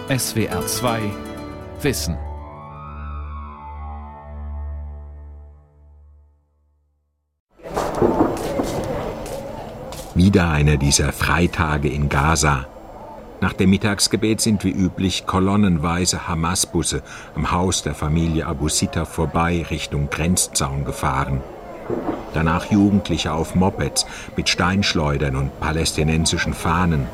SWR 2 Wissen. Wieder einer dieser Freitage in Gaza. Nach dem Mittagsgebet sind wie üblich kolonnenweise Hamas-Busse am Haus der Familie Abu Sitta vorbei Richtung Grenzzaun gefahren. Danach Jugendliche auf Mopeds mit Steinschleudern und palästinensischen Fahnen.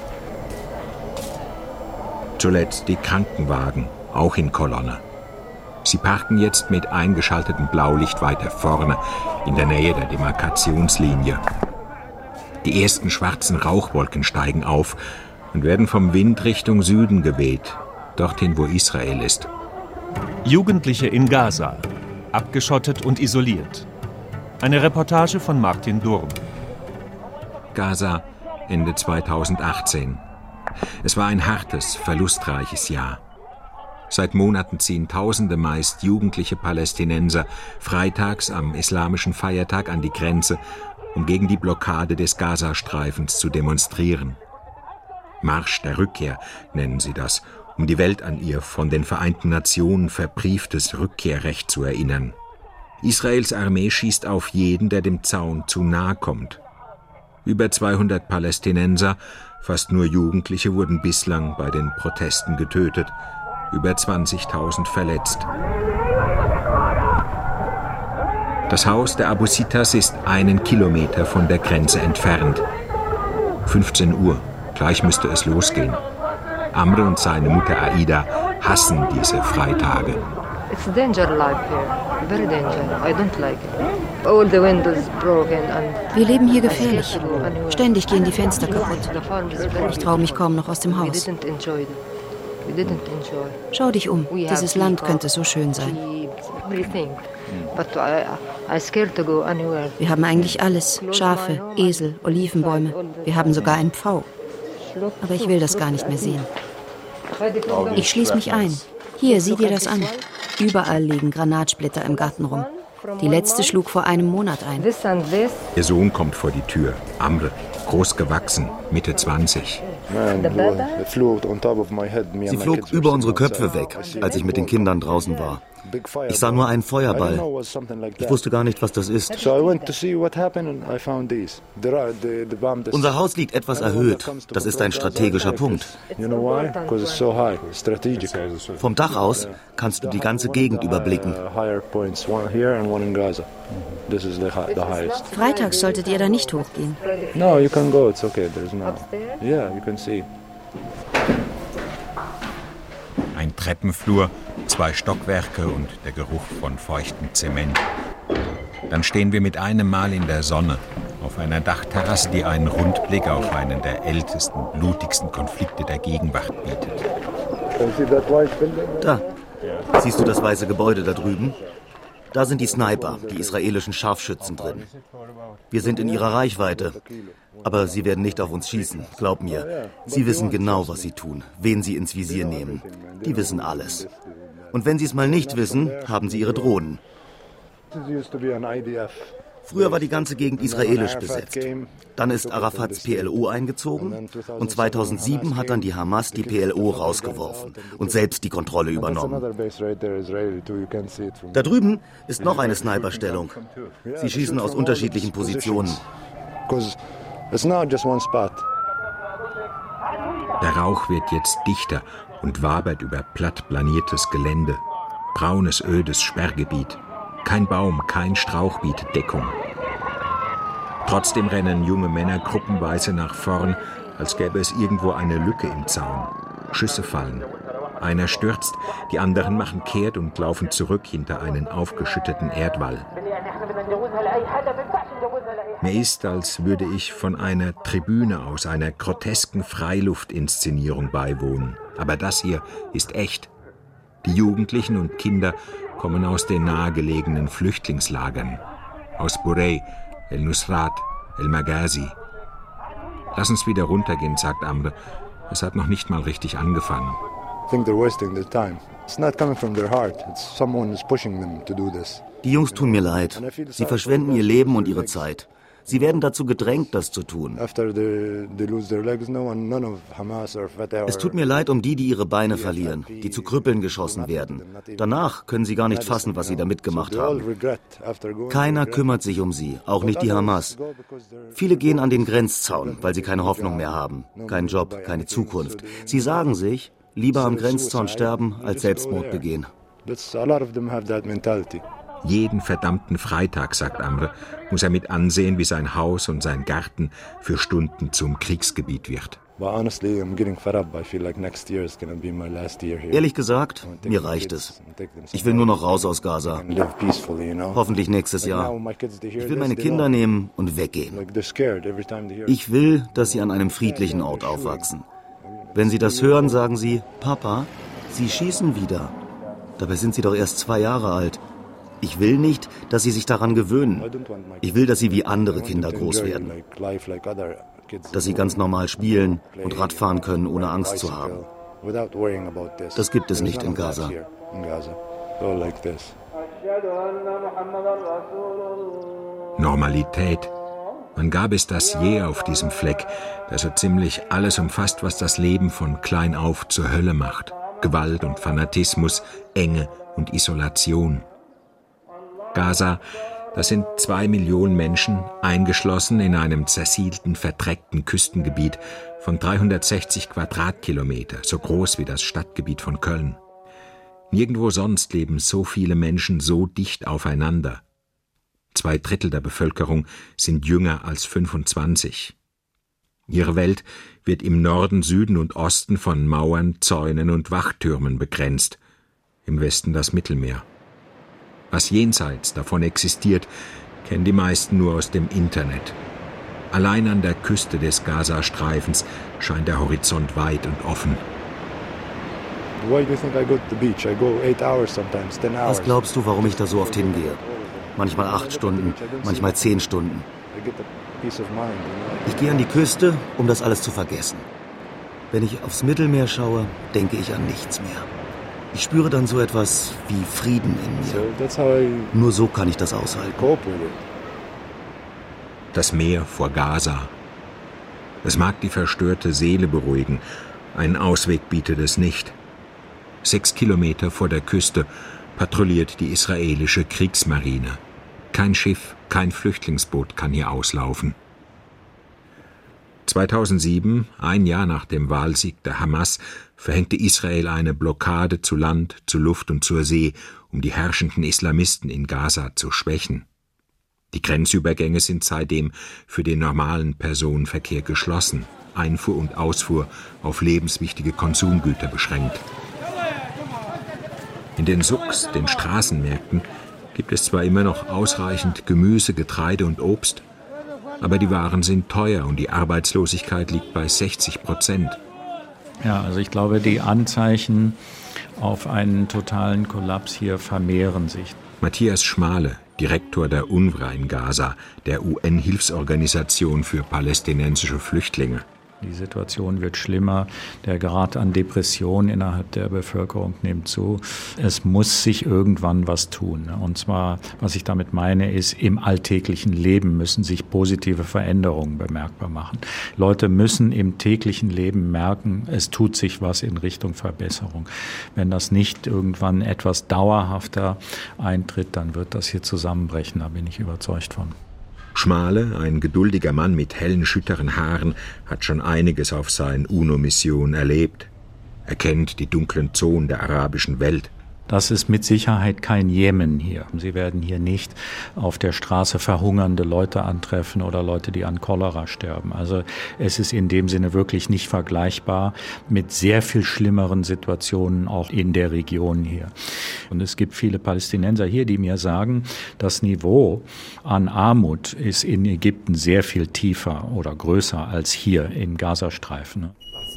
Zuletzt die Krankenwagen, auch in Kolonne. Sie parken jetzt mit eingeschaltetem Blaulicht weiter vorne, in der Nähe der Demarkationslinie. Die ersten schwarzen Rauchwolken steigen auf und werden vom Wind Richtung Süden geweht, dorthin, wo Israel ist. Jugendliche in Gaza, abgeschottet und isoliert. Eine Reportage von Martin Durm. Gaza, Ende 2018. Es war ein hartes, verlustreiches Jahr. Seit Monaten ziehen Tausende meist jugendliche Palästinenser freitags am islamischen Feiertag an die Grenze, um gegen die Blockade des Gazastreifens zu demonstrieren. Marsch der Rückkehr nennen sie das, um die Welt an ihr von den Vereinten Nationen verbrieftes Rückkehrrecht zu erinnern. Israels Armee schießt auf jeden, der dem Zaun zu nahe kommt. Über 200 Palästinenser, fast nur Jugendliche, wurden bislang bei den Protesten getötet, über 20.000 verletzt. Das Haus der Abu Sittas ist 1 Kilometer von der Grenze entfernt. 15 Uhr, gleich müsste es losgehen. Amr und seine Mutter Aida hassen diese Freitage. It's danger life here, very danger. I don't like it. All the windows broken and wir leben hier gefährlich. Ständig gehen die Fenster kaputt. Ich traue mich kaum noch aus dem Haus. Schau dich um. Dieses Land könnte so schön sein. Wir haben eigentlich alles. Schafe, Esel, Olivenbäume. Wir haben sogar einen Pfau. Aber ich will das gar nicht mehr sehen. Ich schließe mich ein. Hier, sieh dir das an. Überall liegen Granatsplitter im Garten rum. Die letzte schlug vor einem Monat ein. Ihr Sohn kommt vor die Tür. Amr, groß gewachsen, Mitte 20. Sie flog über unsere Köpfe weg, als ich mit den Kindern draußen war. Ich sah nur einen Feuerball. Ich wusste gar nicht, was das ist. Unser Haus liegt etwas erhöht. Das ist ein strategischer Punkt. Vom Dach aus kannst du die ganze Gegend überblicken. Freitags solltet ihr da nicht hochgehen. No, you can go. It's okay. There's no. Yeah, you can see. Ein Treppenflur, 2 Stockwerke und der Geruch von feuchtem Zement. Dann stehen wir mit einem Mal in der Sonne auf einer Dachterrasse, die einen Rundblick auf einen der ältesten, blutigsten Konflikte der Gegenwart bietet. Da. Siehst du das weiße Gebäude da drüben? Da sind die Sniper, die israelischen Scharfschützen drin. Wir sind in ihrer Reichweite. Aber sie werden nicht auf uns schießen, glaub mir. Sie wissen genau, was sie tun, wen sie ins Visier nehmen. Die wissen alles. Und wenn sie es mal nicht wissen, haben sie ihre Drohnen. Früher war die ganze Gegend israelisch besetzt. Dann ist Arafats PLO eingezogen und 2007 hat dann die Hamas die PLO rausgeworfen und selbst die Kontrolle übernommen. Da drüben ist noch eine Sniperstellung. Sie schießen aus unterschiedlichen Positionen. Der Rauch wird jetzt dichter und wabert über platt planiertes Gelände. Braunes, ödes Sperrgebiet. Kein Baum, kein Strauch bietet Deckung. Trotzdem rennen junge Männer gruppenweise nach vorn, als gäbe es irgendwo eine Lücke im Zaun. Schüsse fallen. Einer stürzt, die anderen machen kehrt und laufen zurück hinter einen aufgeschütteten Erdwall. Mir ist, als würde ich von einer Tribüne aus einer grotesken Freiluftinszenierung beiwohnen. Aber das hier ist echt. Die Jugendlichen und Kinder kommen aus den nahegelegenen Flüchtlingslagern. Aus Burey, El-Nusrat, El-Maghazi. Lass uns wieder runtergehen, sagt Amr. Es hat noch nicht mal richtig angefangen. Die Jungs tun mir leid. Sie verschwenden ihr Leben und ihre Zeit. Sie werden dazu gedrängt, das zu tun. Es tut mir leid um die ihre Beine verlieren, die zu Krüppeln geschossen werden. Danach können sie gar nicht fassen, was sie da mitgemacht haben. Keiner kümmert sich um sie, auch nicht die Hamas. Viele gehen an den Grenzzaun, weil sie keine Hoffnung mehr haben. Keinen Job, keine Zukunft. Sie sagen sich, lieber am Grenzzaun sterben, als Selbstmord begehen. Jeden verdammten Freitag, sagt Amr, muss er mit ansehen, wie sein Haus und sein Garten für Stunden zum Kriegsgebiet wird. Ehrlich gesagt, mir reicht es. Ich will nur noch raus aus Gaza. Hoffentlich nächstes Jahr. Ich will meine Kinder nehmen und weggehen. Ich will, dass sie an einem friedlichen Ort aufwachsen. Wenn sie das hören, sagen sie, Papa, sie schießen wieder. Dabei sind sie doch erst 2 Jahre alt. Ich will nicht, dass sie sich daran gewöhnen. Ich will, dass sie wie andere Kinder groß werden. Dass sie ganz normal spielen und Radfahren können, ohne Angst zu haben. Das gibt es nicht in Gaza. Normalität. Wann gab es das je auf diesem Fleck, der so ziemlich alles umfasst, was das Leben von klein auf zur Hölle macht? Gewalt und Fanatismus, Enge und Isolation. Gaza, das sind 2 Millionen Menschen, eingeschlossen in einem zersiedlten, verdreckten Küstengebiet von 360 Quadratkilometer, so groß wie das Stadtgebiet von Köln. Nirgendwo sonst leben so viele Menschen so dicht aufeinander. 2/3 der Bevölkerung sind jünger als 25. Ihre Welt wird im Norden, Süden und Osten von Mauern, Zäunen und Wachtürmen begrenzt, im Westen das Mittelmeer. Was jenseits davon existiert, kennen die meisten nur aus dem Internet. Allein an der Küste des Gazastreifens scheint der Horizont weit und offen. Was glaubst du, warum ich da so oft hingehe? Manchmal 8 Stunden, manchmal 10 Stunden. Ich gehe an die Küste, um das alles zu vergessen. Wenn ich aufs Mittelmeer schaue, denke ich an nichts mehr. Ich spüre dann so etwas wie Frieden in mir. Nur so kann ich das aushalten. Das Meer vor Gaza. Es mag die verstörte Seele beruhigen, einen Ausweg bietet es nicht. 6 Kilometer vor der Küste patrouilliert die israelische Kriegsmarine. Kein Schiff, kein Flüchtlingsboot kann hier auslaufen. 2007, ein Jahr nach dem Wahlsieg der Hamas, verhängte Israel eine Blockade zu Land, zu Luft und zur See, um die herrschenden Islamisten in Gaza zu schwächen. Die Grenzübergänge sind seitdem für den normalen Personenverkehr geschlossen, Einfuhr und Ausfuhr auf lebenswichtige Konsumgüter beschränkt. In den Souks, den Straßenmärkten, gibt es zwar immer noch ausreichend Gemüse, Getreide und Obst, aber die Waren sind teuer und die Arbeitslosigkeit liegt bei 60%. Ja, also ich glaube, die Anzeichen auf einen totalen Kollaps hier vermehren sich. Matthias Schmale, Direktor der UNRWA in Gaza, der UN-Hilfsorganisation für palästinensische Flüchtlinge. Die Situation wird schlimmer, der Grad an Depression innerhalb der Bevölkerung nimmt zu. Es muss sich irgendwann was tun. Und zwar, was ich damit meine, ist, im alltäglichen Leben müssen sich positive Veränderungen bemerkbar machen. Leute müssen im täglichen Leben merken, es tut sich was in Richtung Verbesserung. Wenn das nicht irgendwann etwas dauerhafter eintritt, dann wird das hier zusammenbrechen, da bin ich überzeugt von. Schmale, ein geduldiger Mann mit hellen, schütteren Haaren, hat schon einiges auf seinen UNO-Missionen erlebt. Er kennt die dunklen Zonen der arabischen Welt. Das ist mit Sicherheit kein Jemen hier. Sie werden hier nicht auf der Straße verhungernde Leute antreffen oder Leute, die an Cholera sterben. Also es ist in dem Sinne wirklich nicht vergleichbar mit sehr viel schlimmeren Situationen auch in der Region hier. Und es gibt viele Palästinenser hier, die mir sagen, das Niveau an Armut ist in Ägypten sehr viel tiefer oder größer als hier im Gazastreifen.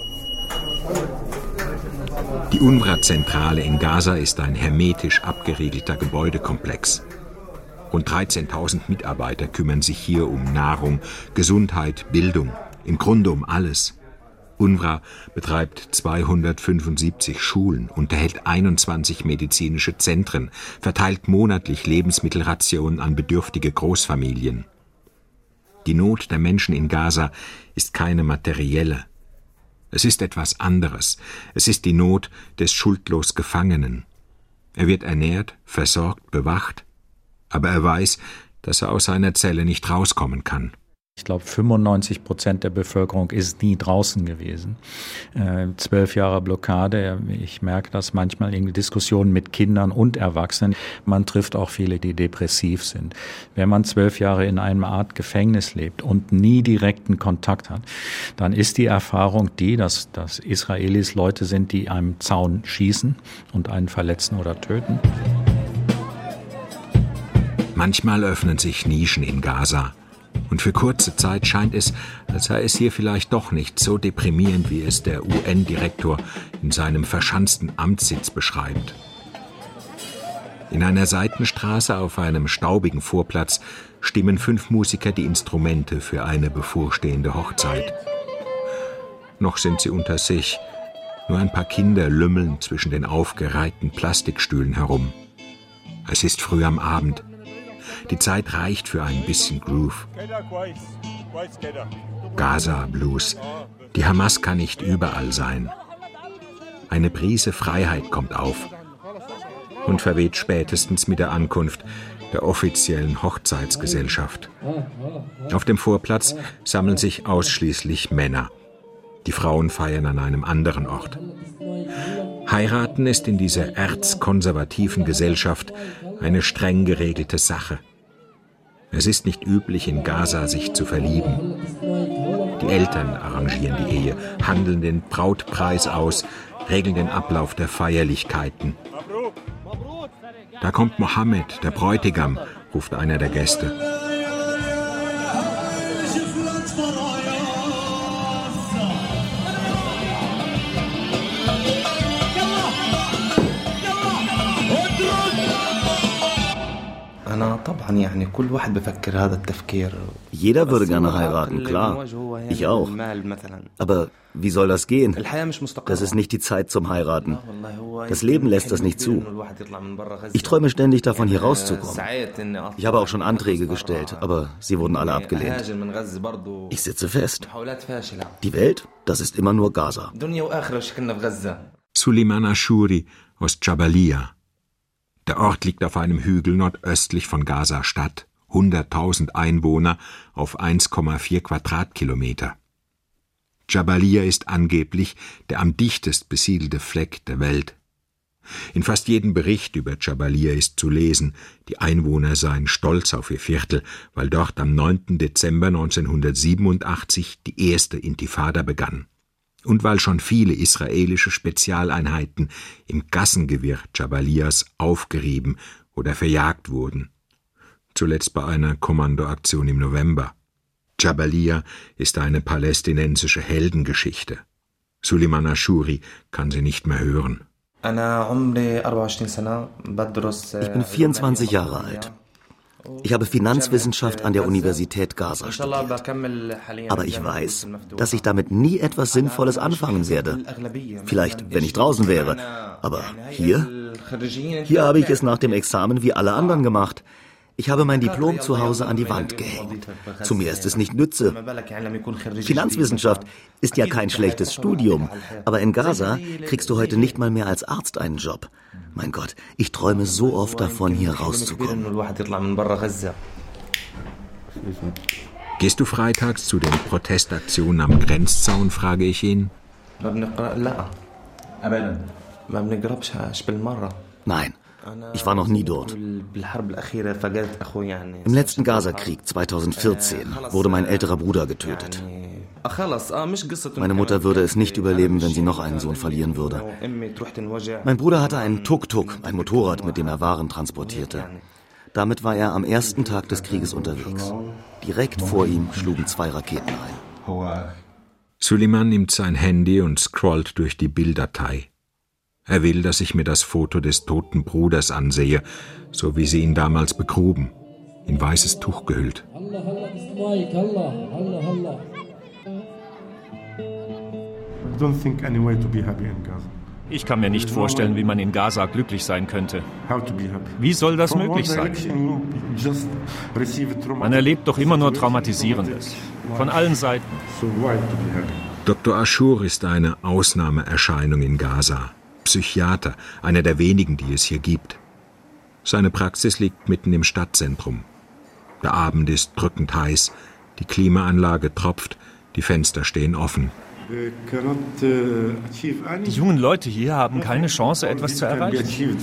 Die UNRWA-Zentrale in Gaza ist ein hermetisch abgeriegelter Gebäudekomplex. Rund 13.000 Mitarbeiter kümmern sich hier um Nahrung, Gesundheit, Bildung, im Grunde um alles. UNRWA betreibt 275 Schulen, unterhält 21 medizinische Zentren, verteilt monatlich Lebensmittelrationen an bedürftige Großfamilien. Die Not der Menschen in Gaza ist keine materielle. Es ist etwas anderes. Es ist die Not des schuldlos Gefangenen. Er wird ernährt, versorgt, bewacht, aber er weiß, dass er aus seiner Zelle nicht rauskommen kann. Ich glaube, 95% der Bevölkerung ist nie draußen gewesen. 12 Jahre Blockade, ich merke das manchmal in Diskussionen mit Kindern und Erwachsenen. Man trifft auch viele, die depressiv sind. Wenn man 12 Jahre in einer Art Gefängnis lebt und nie direkten Kontakt hat, dann ist die Erfahrung die, dass Israelis Leute sind, die einem Zaun schießen und einen verletzen oder töten. Manchmal öffnen sich Nischen in Gaza. Und für kurze Zeit scheint es, als sei es hier vielleicht doch nicht so deprimierend, wie es der UN-Direktor in seinem verschanzten Amtssitz beschreibt. In einer Seitenstraße auf einem staubigen Vorplatz stimmen 5 Musiker die Instrumente für eine bevorstehende Hochzeit. Noch sind sie unter sich. Nur ein paar Kinder lümmeln zwischen den aufgereihten Plastikstühlen herum. Es ist früh am Abend. Die Zeit reicht für ein bisschen Groove. Gaza-Blues. Die Hamas kann nicht überall sein. Eine Prise Freiheit kommt auf und verweht spätestens mit der Ankunft der offiziellen Hochzeitsgesellschaft. Auf dem Vorplatz sammeln sich ausschließlich Männer. Die Frauen feiern an einem anderen Ort. Heiraten ist in dieser erzkonservativen Gesellschaft eine streng geregelte Sache. Es ist nicht üblich, in Gaza sich zu verlieben. Die Eltern arrangieren die Ehe, handeln den Brautpreis aus, regeln den Ablauf der Feierlichkeiten. Da kommt Mohammed, der Bräutigam, ruft einer der Gäste. Jeder würde gerne heiraten, klar. Ich auch. Aber wie soll das gehen? Das ist nicht die Zeit zum Heiraten. Das Leben lässt das nicht zu. Ich träume ständig davon, hier rauszukommen. Ich habe auch schon Anträge gestellt, aber sie wurden alle abgelehnt. Ich sitze fest. Die Welt, das ist immer nur Gaza. Suleiman Ashuri aus Jabalia. Der Ort liegt auf einem Hügel nordöstlich von Gaza-Stadt, 100.000 Einwohner auf 1,4 Quadratkilometer. Jabalia ist angeblich der am dichtest besiedelte Fleck der Welt. In fast jedem Bericht über Jabalia ist zu lesen, die Einwohner seien stolz auf ihr Viertel, weil dort am 9. Dezember 1987 die erste Intifada begann. Und weil schon viele israelische Spezialeinheiten im Gassengewirr Jabalias aufgerieben oder verjagt wurden. Zuletzt bei einer Kommandoaktion im November. Jabalia ist eine palästinensische Heldengeschichte. Suleiman Ashuri kann sie nicht mehr hören. Ich bin 24 Jahre alt. Ich habe Finanzwissenschaft an der Universität Gaza studiert. Aber ich weiß, dass ich damit nie etwas Sinnvolles anfangen werde. Vielleicht, wenn ich draußen wäre. Aber hier habe ich es nach dem Examen wie alle anderen gemacht. Ich habe mein Diplom zu Hause an die Wand gehängt. Zu mir ist es nicht nütze. Finanzwissenschaft ist ja kein schlechtes Studium. Aber in Gaza kriegst du heute nicht mal mehr als Arzt einen Job. Mein Gott, ich träume so oft davon, hier rauszukommen. Gehst du freitags zu den Protestaktionen am Grenzzaun, frage ich ihn. Nein. Ich war noch nie dort. Im letzten Gazakrieg 2014 wurde mein älterer Bruder getötet. Meine Mutter würde es nicht überleben, wenn sie noch einen Sohn verlieren würde. Mein Bruder hatte einen Tuk-Tuk, ein Motorrad, mit dem er Waren transportierte. Damit war er am ersten Tag des Krieges unterwegs. Direkt vor ihm schlugen 2 Raketen ein. Suleiman nimmt sein Handy und scrollt durch die Bilddatei. Er will, dass ich mir das Foto des toten Bruders ansehe, so wie sie ihn damals begruben, in weißes Tuch gehüllt. Ich kann mir nicht vorstellen, wie man in Gaza glücklich sein könnte. Wie soll das möglich sein? Man erlebt doch immer nur Traumatisierendes. Von allen Seiten. Dr. Ashur ist eine Ausnahmeerscheinung in Gaza. Psychiater, einer der wenigen, die es hier gibt. Seine Praxis liegt mitten im Stadtzentrum. Der Abend ist drückend heiß, die Klimaanlage tropft, die Fenster stehen offen. Die jungen Leute hier haben keine Chance, etwas zu erreichen.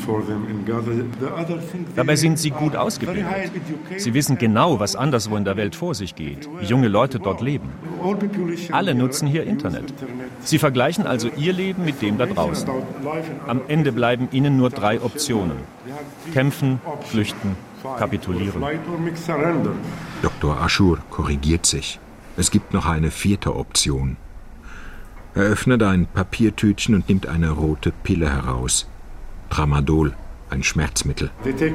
Dabei sind sie gut ausgebildet. Sie wissen genau, was anderswo in der Welt vor sich geht, wie junge Leute dort leben. Alle nutzen hier Internet. Sie vergleichen also ihr Leben mit dem da draußen. Am Ende bleiben ihnen nur 3 Optionen: kämpfen, flüchten, kapitulieren. Dr. Ashur korrigiert sich. Es gibt noch eine 4. Option. Er öffnet ein Papiertütchen und nimmt eine rote Pille heraus. Tramadol, ein Schmerzmittel.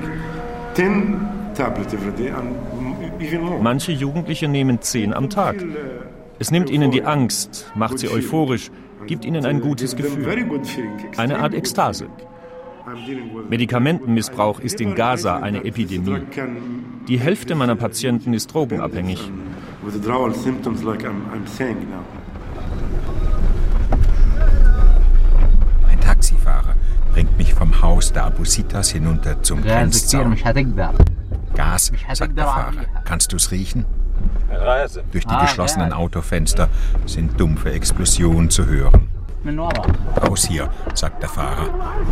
Manche Jugendliche nehmen 10 am Tag. Es nimmt ihnen die Angst, macht sie euphorisch, gibt ihnen ein gutes Gefühl. Eine Art Ekstase. Medikamentenmissbrauch ist in Gaza eine Epidemie. Die Hälfte meiner Patienten ist drogenabhängig. Taxifahrer bringt mich vom Haus der Abusitas hinunter zum Grenzzaun. Gas, sagt der Fahrer. Kannst du's riechen? Durch die geschlossenen Autofenster sind dumpfe Explosionen zu hören. Raus hier, sagt der Fahrer.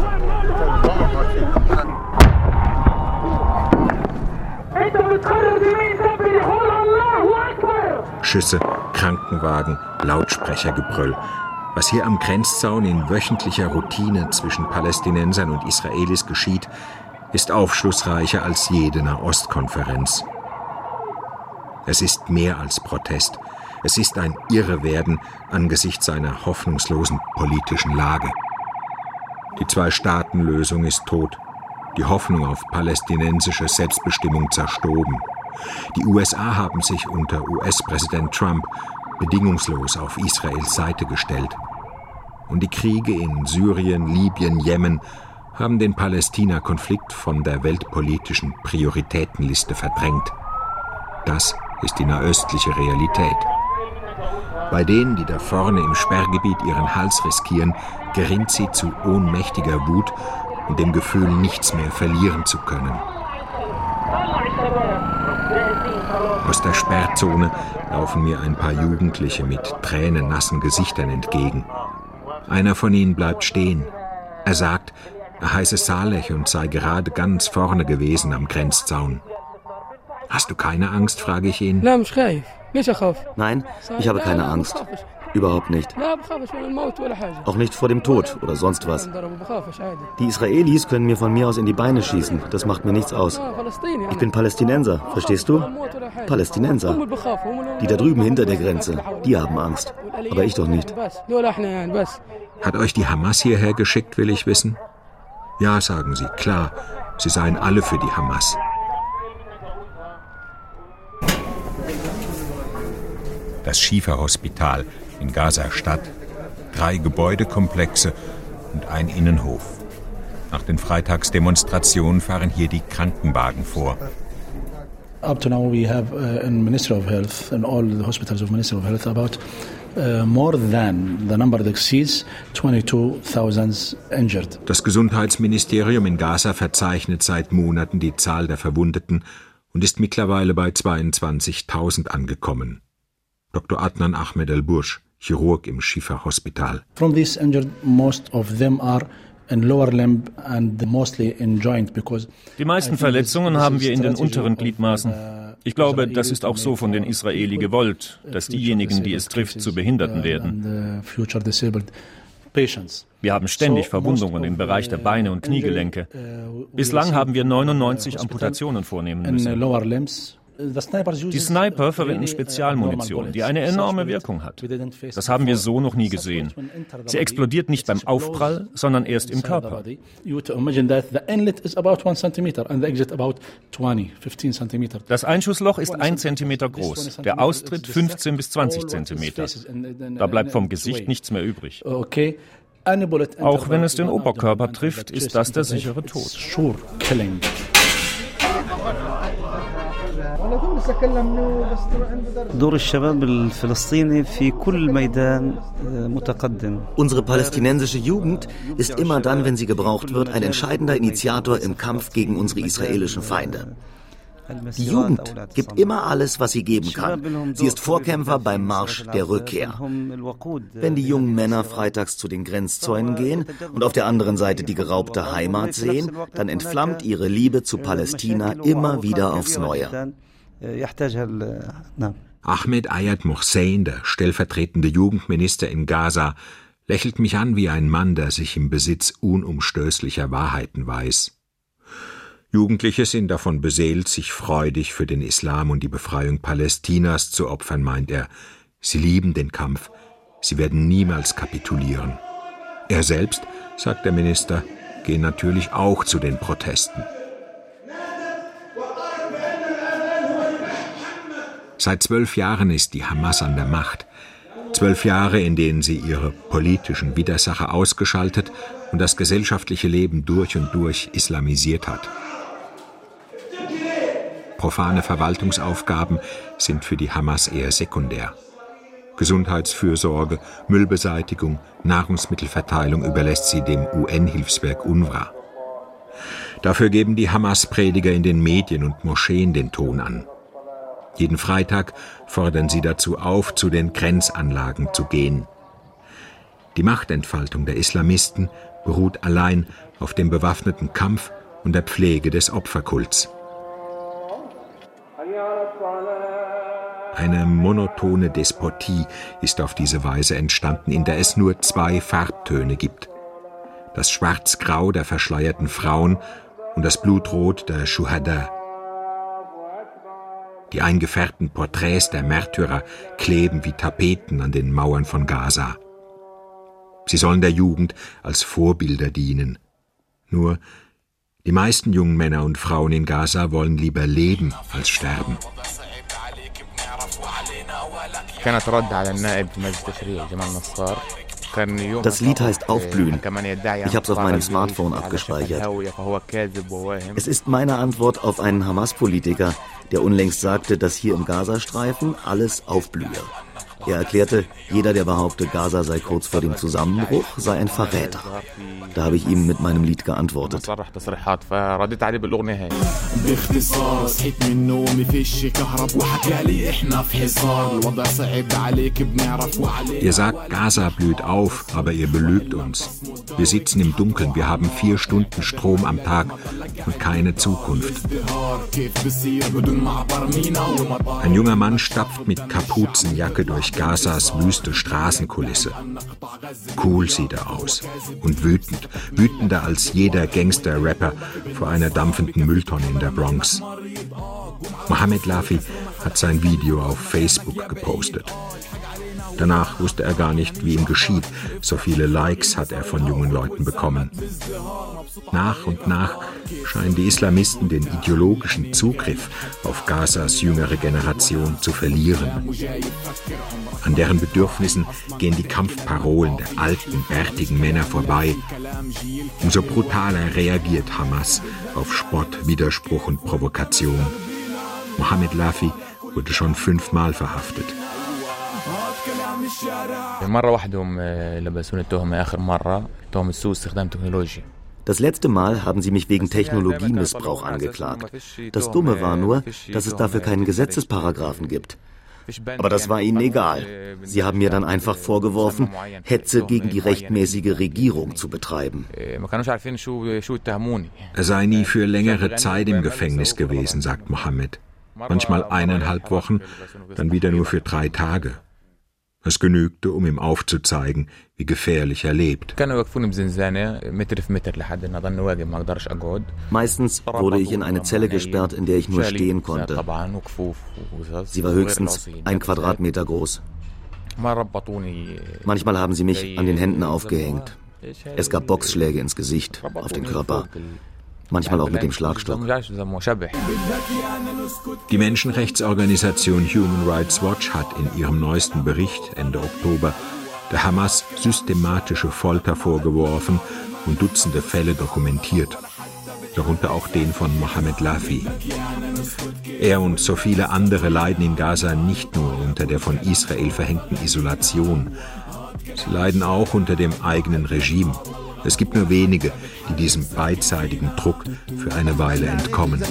Schüsse, Krankenwagen, Lautsprechergebrüll. Was hier am Grenzzaun in wöchentlicher Routine zwischen Palästinensern und Israelis geschieht, ist aufschlussreicher als jede Nahostkonferenz. Es ist mehr als Protest. Es ist ein Irrewerden angesichts einer hoffnungslosen politischen Lage. Die 2-Staaten-Lösung ist tot. Die Hoffnung auf palästinensische Selbstbestimmung zerstoben. Die USA haben sich unter US-Präsident Trump bedingungslos auf Israels Seite gestellt. Und die Kriege in Syrien, Libyen, Jemen haben den Palästina-Konflikt von der weltpolitischen Prioritätenliste verdrängt. Das ist die nahöstliche Realität. Bei denen, die da vorne im Sperrgebiet ihren Hals riskieren, gerinnt sie zu ohnmächtiger Wut und dem Gefühl, nichts mehr verlieren zu können. Aus der Sperrzone laufen mir ein paar Jugendliche mit tränennassen Gesichtern entgegen. Einer von ihnen bleibt stehen. Er sagt, er heiße Saleh und sei gerade ganz vorne gewesen am Grenzzaun. Hast du keine Angst, frage ich ihn. Nein, ich habe keine Angst. Überhaupt nicht. Auch nicht vor dem Tod oder sonst was. Die Israelis können mir von mir aus in die Beine schießen. Das macht mir nichts aus. Ich bin Palästinenser, verstehst du? Palästinenser. Die da drüben hinter der Grenze, die haben Angst. Aber ich doch nicht. Hat euch die Hamas hierher geschickt, will ich wissen? Ja, sagen sie, klar. Sie seien alle für die Hamas. Das Schifa-Hospital in Gaza-Stadt, 3 Gebäudekomplexe und ein Innenhof. Nach den Freitagsdemonstrationen fahren hier die Krankenwagen vor. Up to now we have in Ministry of Health, in all the hospitals of Ministry of Health, about more than the number that exceeds 22,000 injured. Das Gesundheitsministerium in Gaza verzeichnet seit Monaten die Zahl der Verwundeten und ist mittlerweile bei 22.000 angekommen. Dr. Adnan Ahmed El-Bursch, Chirurg im Schifa-Hospital. From these injured, most of them are in lower limb and mostly in joint because die meisten Verletzungen haben wir in den unteren Gliedmaßen. Ich glaube, das ist auch so von den Israeli gewollt, dass diejenigen, die es trifft, zu Behinderten werden. Wir haben ständig Verwundungen im Bereich der Beine und Kniegelenke. Bislang haben wir 99 Amputationen vornehmen müssen. Die Sniper verwenden Spezialmunition, die eine enorme Wirkung hat. Das haben wir so noch nie gesehen. Sie explodiert nicht beim Aufprall, sondern erst im Körper. Das Einschussloch ist 1 Zentimeter groß, der Austritt 15 bis 20 Zentimeter. Da bleibt vom Gesicht nichts mehr übrig. Auch wenn es den Oberkörper trifft, ist das der sichere Tod. Unsere palästinensische Jugend ist immer dann, wenn sie gebraucht wird, ein entscheidender Initiator im Kampf gegen unsere israelischen Feinde. Die Jugend gibt immer alles, was sie geben kann. Sie ist Vorkämpfer beim Marsch der Rückkehr. Wenn die jungen Männer freitags zu den Grenzzäunen gehen und auf der anderen Seite die geraubte Heimat sehen, dann entflammt ihre Liebe zu Palästina immer wieder aufs Neue. Ahmed Ayad Mohsen, der stellvertretende Jugendminister in Gaza, lächelt mich an wie ein Mann, der sich im Besitz unumstößlicher Wahrheiten weiß. Jugendliche sind davon beseelt, sich freudig für den Islam und die Befreiung Palästinas zu opfern, meint er. Sie lieben den Kampf. Sie werden niemals kapitulieren. Er selbst, sagt der Minister, geht natürlich auch zu den Protesten. Seit 12 Jahren ist die Hamas an der Macht. 12 Jahre, in denen sie ihre politischen Widersacher ausgeschaltet und das gesellschaftliche Leben durch und durch islamisiert hat. Profane Verwaltungsaufgaben sind für die Hamas eher sekundär. Gesundheitsfürsorge, Müllbeseitigung, Nahrungsmittelverteilung überlässt sie dem UN-Hilfswerk UNRWA. Dafür geben die Hamas-Prediger in den Medien und Moscheen den Ton an. Jeden Freitag fordern sie dazu auf, zu den Grenzanlagen zu gehen. Die Machtentfaltung der Islamisten beruht allein auf dem bewaffneten Kampf und der Pflege des Opferkults. Eine monotone Despotie ist auf diese Weise entstanden, in der es nur 2 Farbtöne gibt. Das Schwarz-Grau der verschleierten Frauen und das Blutrot der Schuhada. Die eingefärbten Porträts der Märtyrer kleben wie Tapeten an den Mauern von Gaza. Sie sollen der Jugend als Vorbilder dienen. Nur die meisten jungen Männer und Frauen in Gaza wollen lieber leben als sterben. Das Lied heißt Aufblühen. Ich habe es auf meinem Smartphone abgespeichert. Es ist meine Antwort auf einen Hamas-Politiker, der unlängst sagte, dass hier im Gazastreifen alles aufblühe. Er erklärte, jeder, der behaupte, Gaza sei kurz vor dem Zusammenbruch, sei ein Verräter. Da habe ich ihm mit meinem Lied geantwortet. Ihr sagt, Gaza blüht auf, aber ihr belügt uns. Wir sitzen im Dunkeln, wir haben 4 Stunden Strom am Tag und keine Zukunft. Ein junger Mann stapft mit Kapuzenjacke durch Gazas wüste Straßenkulisse. Cool sieht er aus und wütend, wütender als jeder Gangster-Rapper vor einer dampfenden Mülltonne in der Bronx. Mohamed Lafi hat sein Video auf Facebook gepostet. Danach wusste er gar nicht, wie ihm geschieht. So viele Likes hat er von jungen Leuten bekommen. Nach und nach scheinen die Islamisten den ideologischen Zugriff auf Gazas jüngere Generation zu verlieren. An deren Bedürfnissen gehen die Kampfparolen der alten, bärtigen Männer vorbei. Umso brutaler reagiert Hamas auf Spott, Widerspruch und Provokation. Mohamed Lafi wurde schon 5-mal verhaftet. Das letzte Mal haben sie mich wegen Technologiemissbrauch angeklagt. Das Dumme war nur, dass es dafür keinen Gesetzesparagraphen gibt. Aber das war ihnen egal. Sie haben mir dann einfach vorgeworfen, Hetze gegen die rechtmäßige Regierung zu betreiben. Er sei nie für längere Zeit im Gefängnis gewesen, sagt Mohammed. Manchmal 1,5 Wochen, dann wieder nur für 3 Tage. Es genügte, um ihm aufzuzeigen, wie gefährlich er lebt. Meistens wurde ich in eine Zelle gesperrt, in der ich nur stehen konnte. Sie war höchstens 1 Quadratmeter groß. Manchmal haben sie mich an den Händen aufgehängt. Es gab Boxschläge ins Gesicht, auf den Körper. Manchmal auch mit dem Schlagstock. Die Menschenrechtsorganisation Human Rights Watch hat in ihrem neuesten Bericht Ende Oktober der Hamas systematische Folter vorgeworfen und Dutzende Fälle dokumentiert, darunter auch den von Mohamed Lafi. Er und so viele andere leiden in Gaza nicht nur unter der von Israel verhängten Isolation, sie leiden auch unter dem eigenen Regime. Es gibt nur wenige, die diesem beidseitigen Druck für eine Weile entkommen.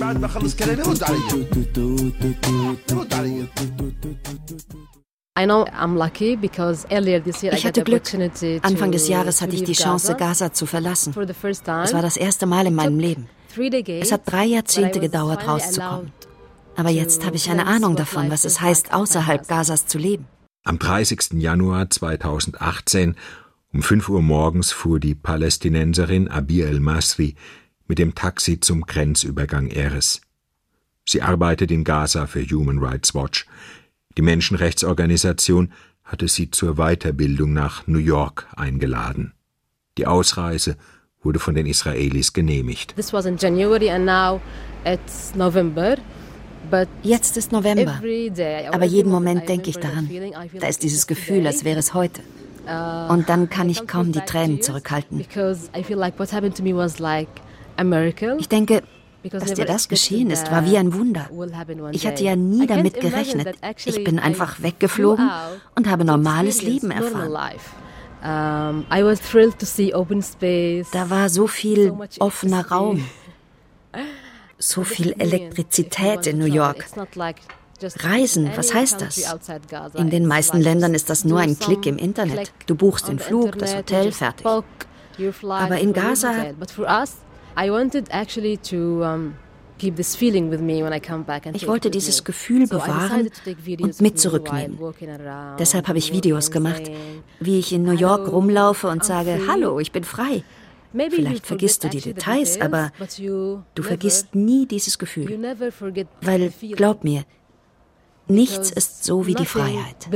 Ich hatte Glück. Anfang des Jahres hatte ich die Chance, Gaza zu verlassen. Es war das erste Mal in meinem Leben. Es hat 3 Jahrzehnte gedauert, rauszukommen. Aber jetzt habe ich eine Ahnung davon, was es heißt, außerhalb Gazas zu leben. Am 30. Januar 2018 um 5 Uhr morgens fuhr die Palästinenserin Abi El-Masri mit dem Taxi zum Grenzübergang Erez. Sie arbeitet in Gaza für Human Rights Watch. Die Menschenrechtsorganisation hatte sie zur Weiterbildung nach New York eingeladen. Die Ausreise wurde von den Israelis genehmigt. This was in January and now it's November. Jetzt ist November, aber jeden Moment denke ich daran. Da ist dieses Gefühl, als wäre es heute. Und dann kann ich kaum die Tränen zurückhalten. Ich denke, dass dir das geschehen ist, war wie ein Wunder. Ich hatte ja nie damit gerechnet. Ich bin einfach weggeflogen und habe normales Leben erfahren. Da war so viel offener Raum, so viel Elektrizität in New York. Reisen, was heißt das? In den meisten Ländern ist das nur ein Klick im Internet. Du buchst den Flug, das Hotel, fertig. Aber in Gaza... Ich wollte dieses Gefühl bewahren und mit zurücknehmen. Deshalb habe ich Videos gemacht, wie ich in New York rumlaufe und sage, hallo, ich bin frei. Vielleicht vergisst du die Details, aber du vergisst nie dieses Gefühl. Weil, glaub mir, nichts ist so wie die Freiheit.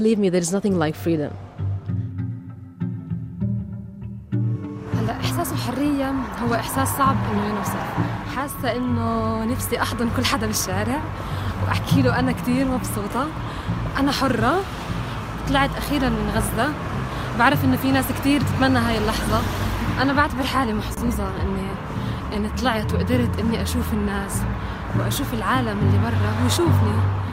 إحساس الحرية هو إحساس صعب إنه ينوصف. حاسة إنه نفسي أحضن كل حدا بالشارع وأحكي له أنا كتير مبسوطة، أنا حرة، طلعت أخيرا من غزة. بعرف إنه في ناس كتير تتمنى هاي اللحظة. أنا بعتبر حالي محظوظة إني طلعت وقدرت إني أشوف الناس وأشوف العالم اللي برا ويشوفني.